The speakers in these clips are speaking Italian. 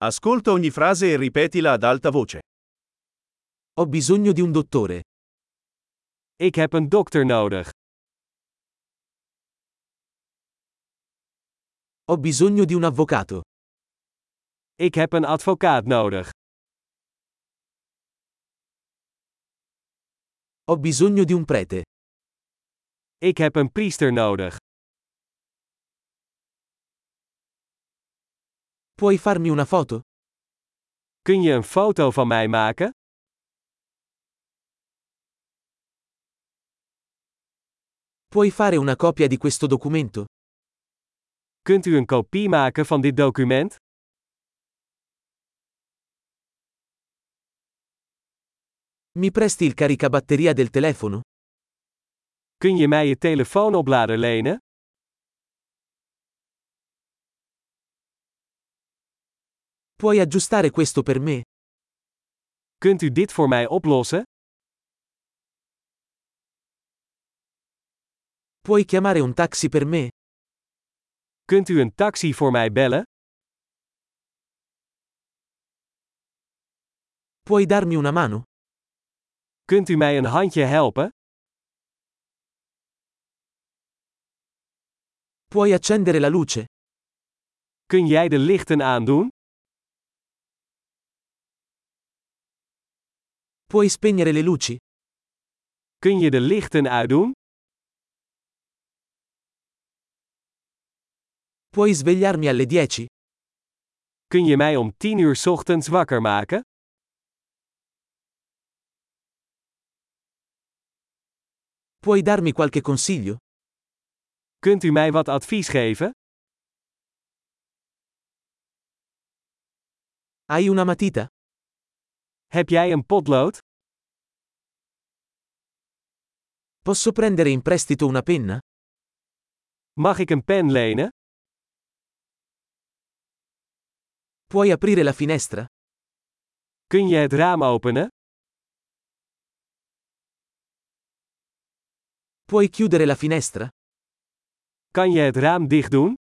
Ascolta ogni frase e ripetila ad alta voce. Ho bisogno di un dottore. Ik heb een dokter nodig. Ho bisogno di un avvocato. Ik heb een advocaat nodig. Ho bisogno di un prete. Ik heb een priester nodig. Puoi farmi una foto? Kun je een foto van mij maken? Puoi fare una copia di questo documento? Kunt u een kopie maken van dit document? Mi presti il caricabatteria del telefono? Kun je mij je telefoonoplader lenen? Puoi aggiustare questo per me? Kunt u dit voor mij oplossen? Puoi chiamare un taxi per me? Kunt u een taxi voor mij bellen? Puoi darmi una mano? Kunt u mij een handje helpen? Puoi accendere la luce? Kun jij de lichten aandoen? Puoi spegnere le luci? Kun je de lichten uitdoen? Puoi svegliarmi alle 10? Kun je mij om 10 uur 's ochtends wakker maken? Puoi darmi qualche consiglio? Kunt u mij wat advies geven? Hai una matita? Heb jij een potlood? Posso prendere in prestito una penna? Mag ik een pen lenen? Puoi aprire la finestra? Kun je het raam openen? Puoi chiudere la finestra? Kan je het raam dicht doen?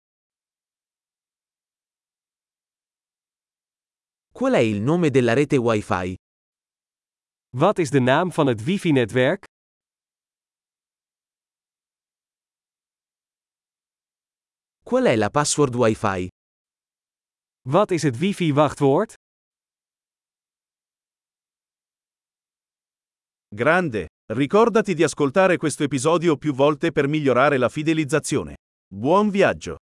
Qual è il nome della rete Wi-Fi? Wat is de naam van het wifi-netwerk? Qual è la password Wi-Fi? Wat is het wifi-wachtwoord? Grande! Ricordati di ascoltare questo episodio più volte per migliorare la fidelizzazione. Buon viaggio!